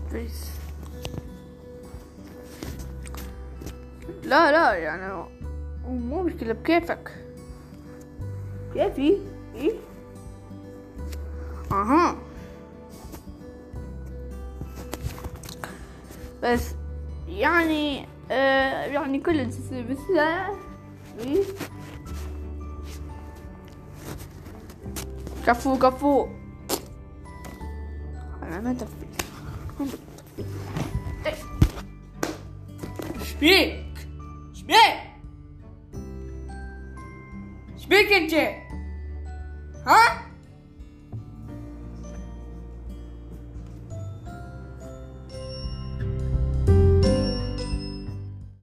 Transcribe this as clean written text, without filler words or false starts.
بس لا يعني مو مشكلة، بكيفك. كيفي ايه. اها بس يعني يعني كل بس لا ايه. كفو انا ما تفي. شبيك شبيك انت ها؟